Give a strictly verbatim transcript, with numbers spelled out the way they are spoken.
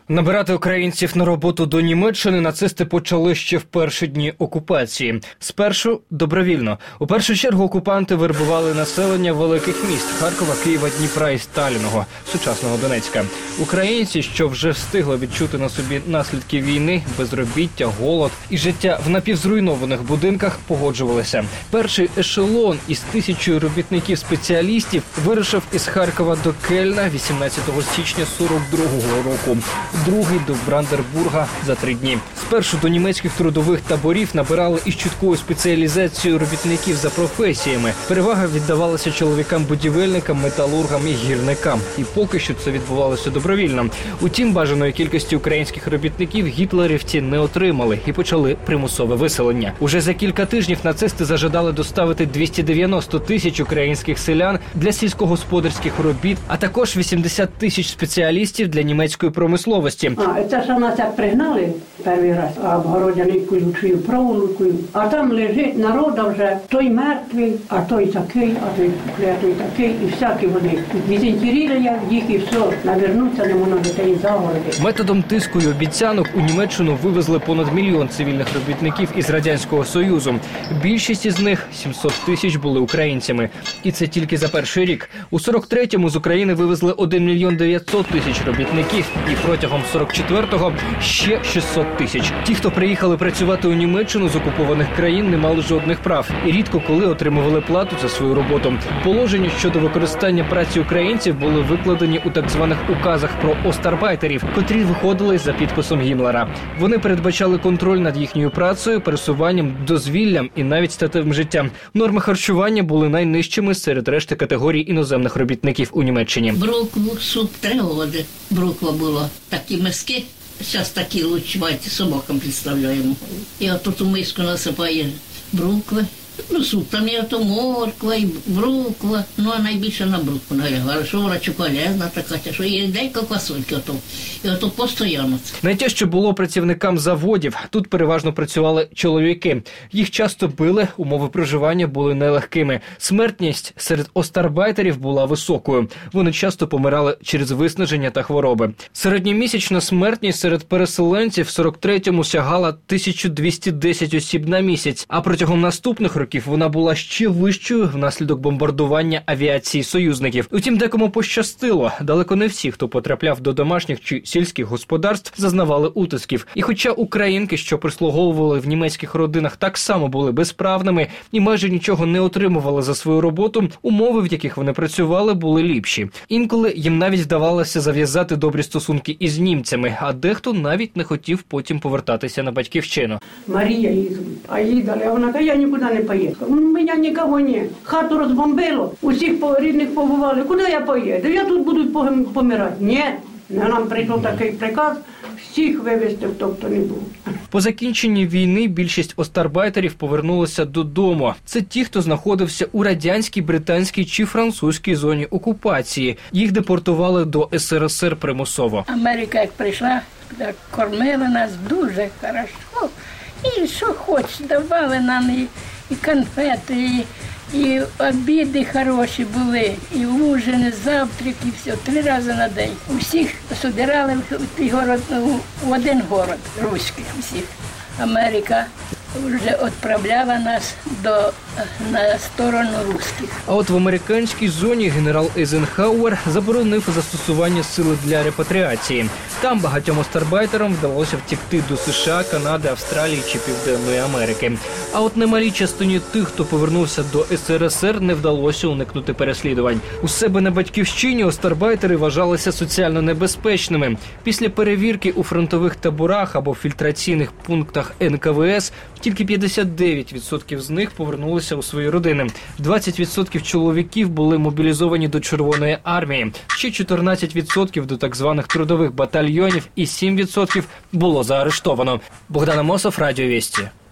Набирати українців на роботу до Німеччини нацисти почали ще в перші дні окупації. Спершу добровільно. У першу чергу окупанти вербували населення великих міст – Харкова, Києва, Дніпра і Сталіного, сучасного Донецька. Українці, що вже встигли відчути на собі наслідки війни, безробіття, голод і життя в напівзруйнованих будинках, погоджувалися. Перший ешелон із тисячою робітників-спеціалістів вирушив із Харкова до Кельна вісімнадцятого січня сорок другого року. Другий до Бранденбурга за три дні. Спершу до німецьких трудових таборів набирали із чіткою спеціалізацією робітників за професіями. Перевага віддавалася чоловікам-будівельникам, металургам і гірникам. І поки що це відбувалося добровільно. Утім, бажаної кількості українських робітників гітлерівці не отримали і почали примусове виселення. Уже за кілька тижнів нацисти зажадали доставити двісті дев'яносто тисяч українських селян для сільськогосподарських робіт, а також вісімдесят тисяч спеціалістів для німецької промисловості. А, це ж нас як пригнали перший раз, а обгородяникою чи проволокою, а там лежить народа вже, той мертвий, а той такий, а той клятий такий, і всякі вони. Дезінтеріли їх і все, навернуться не можна дітей за городи. Методом тиску і обіцянок у Німеччину вивезли понад мільйон цивільних робітників із Радянського Союзу. Більшість із них, сімсот тисяч, були українцями. І це тільки за перший рік. У сорок третьому з України вивезли один мільйон дев'ятсот тисяч робітників і протягом сорок четвертого ще шістсот тисяч. Ті, хто приїхали працювати у Німеччину з окупованих країн, не мали жодних прав і рідко коли отримували плату за свою роботу. Положення щодо використання праці українців були викладені у так званих указах про остарбайтерів, котрі виходили за підписом Гіммлера. Вони передбачали контроль над їхньою працею, пересуванням, дозвіллям і навіть статевим життям. Норми харчування були найнижчими серед решти категорій іноземних робітників у Німеччині. Брукву, суп, три годи. Бруква була. Такі миски, зараз такі лучваті, собакам представляємо. І отут у миску насипає брукви. Ну, суп, там є то морква, і бруква, ну, а найбільше на брукву налягала, що вона полезна така, що є декілька квасольки, ото, і ото постійно. Найтяжче було працівникам заводів. Тут переважно працювали чоловіки. Їх часто били, умови проживання були нелегкими. Смертність серед остарбайтерів була високою. Вони часто помирали через виснаження та хвороби. Середньомісячна смертність серед переселенців в сорок третьому сягала тисячу двісті десять осіб на місяць, а протягом наступних років років вона була ще вищою внаслідок бомбардування авіації союзників. Утім, декому пощастило. Далеко не всі, хто потрапляв до домашніх чи сільських господарств, зазнавали утисків. І хоча українки, що прислуговували в німецьких родинах, так само були безправними і майже нічого не отримували за свою роботу, умови, в яких вони працювали, були ліпші. Інколи їм навіть вдавалося зав'язати добрі стосунки із німцями, а дехто навіть не хотів потім повертатися на батьківщину. Марія її звуть, а їй дали, а вона каже, я нікуди не поїду. У мене нікого немає. Хату розбомбило, усіх рідних побували. Куди я поїду? Я тут буду помирати. Ні, нам прийшов такий приказ, всіх вивезти, хто хто не був. По закінченні війни більшість остарбайтерів повернулися додому. Це ті, хто знаходився у радянській, британській чи французькій зоні окупації. Їх депортували до ес ер ес ер примусово. Америка як прийшла, так кормили нас дуже хорошо. І що хоч, давали нам і, і конфети, і, і обіди хороші були, і ужини, завтраки, все, три рази на день. Усіх собирали в, город, в один город, руський всіх. Америка вже відправляла нас до, на сторону русських. А от в американській зоні генерал Ейзенхауер заборонив застосування сили для репатріації. Там багатьом остарбайтерам вдалося втекти до США, Канади, Австралії чи Південної Америки. А от немалій частині тих, хто повернувся до ес ер ес ер, не вдалося уникнути переслідувань. У себе на батьківщині остарбайтери вважалися соціально небезпечними. Після перевірки у фронтових таборах або фільтраційних пунктах ен ка ве ес тільки п'ятдесят дев'ять відсотків з них повернулися у свої родини. двадцять відсотків чоловіків були мобілізовані до Червоної армії, ще чотирнадцять відсотків до так званих трудових батальйонів і сім відсотків було заарештовано. Богдан Амосов, Радіо Вісті.